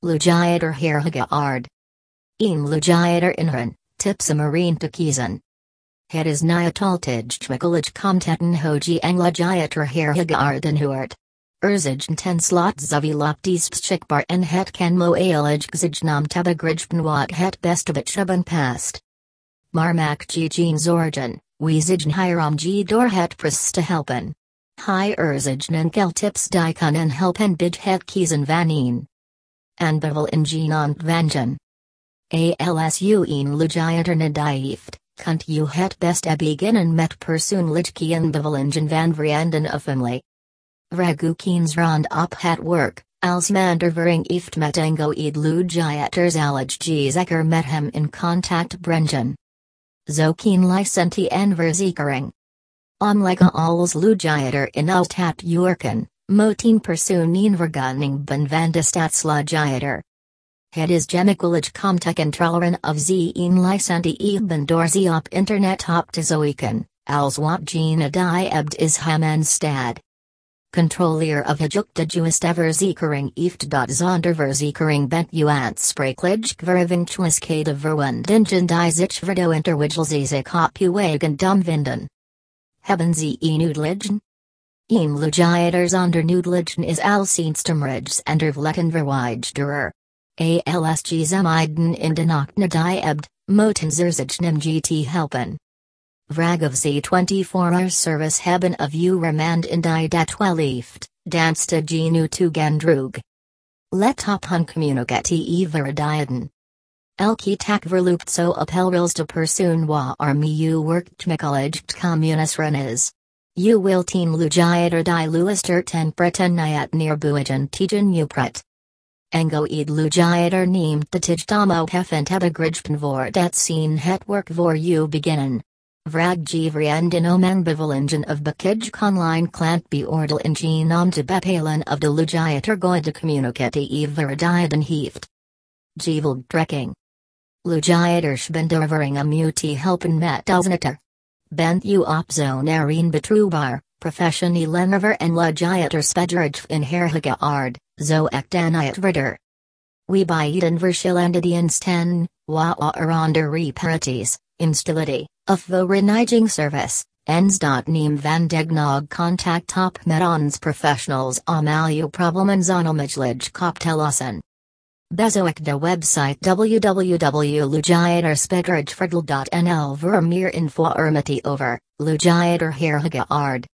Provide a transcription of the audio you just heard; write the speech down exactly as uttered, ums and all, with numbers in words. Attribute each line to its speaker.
Speaker 1: Lujayater Herhagaard. Een Lujayater Inran, Tipsa Marine te kiezen. Het is Nyatoltijgmikulig Komtetten Hoji en Lujayater Herhagaarden Huart. Erzij ten slot Zaviloptis Pschikbar en het Kenmo Aelig Gzignam Tabagrijben wat het Bestabit hebben past. Marmak Gijin Zorgen, Weezijn Hiram G door het Pris te helpen. Hi Erzijnen Keltips Dikon en helpen bij het kiezen vaneen. En bevel in Genant Vangen. Alsu een Lujayater Nadieft, kunt u het beste beginnen met persoonlijke bevelingen van vrienden of family. Vragukiens rond op het werk, als mandervering heeft met engo ed Lujayaters alig g zeker met hem in contact brengen. Zo kien licenti en verzekering. Omlega als Lujayater in Altat Jurken, motin persoon vergunning ben van de Stadslujayater. Het is gemakkelijk om te controleren of ze een licenti hebben door ze op internet op te zoeken, als wat gene die ebt is hem en stad. Controller of hejukte juiste verzekering heeft dat zonder verzekering bent u aansprekelijk verwinkelighede verwondingen die zich verdo interwijl ze zich op uw eigen dom vinden. Hebben ze een uitleggen? Een Lujayater zonder uitleggen is alleenstemmerigs en vervlekken verwijderder. Alsg zemiden in de nacht die ebt, moten zich nem gt helpen. Vrag of ze twenty-four hour service hebben of u remand in die dat wel heeft, danste genu toegandrug. Let op hun communicatie verdijen. Elke tak verloopt zo op helrils de persoon waar arme u werkt makkelijk communiseren is. U wilt een Lujayater die luistert en preteniat neerbuigen tegen u pret. Engo ed Lujayater neemt de tijdtomo heffen tabagrijben voor dat zien het werk voor u beginnen. Vrag g vrienden om bevelingen of bekij online klant beoordeel in genom te bepalen of de Lujayater goede communicatie verdijen heeft. G trekking. Lujayaters bendervering om u te helpen met alsnetter. Bent u op zo'n erin betrouwbaar, professioneel enerver en Lujayater spederig in herhagaard, zo ek dan uitverder. We bieden verschillende diensten, wa onder reparaties, installity, of vereniging service, ens dot neem van degnog contact op met ons professionals om al uw problemen zonomijlig kop te lossen. Bezoek de website w w w dot lujayaterspederigverdel dot n l voor meer informatie over Lujayater herhagaard.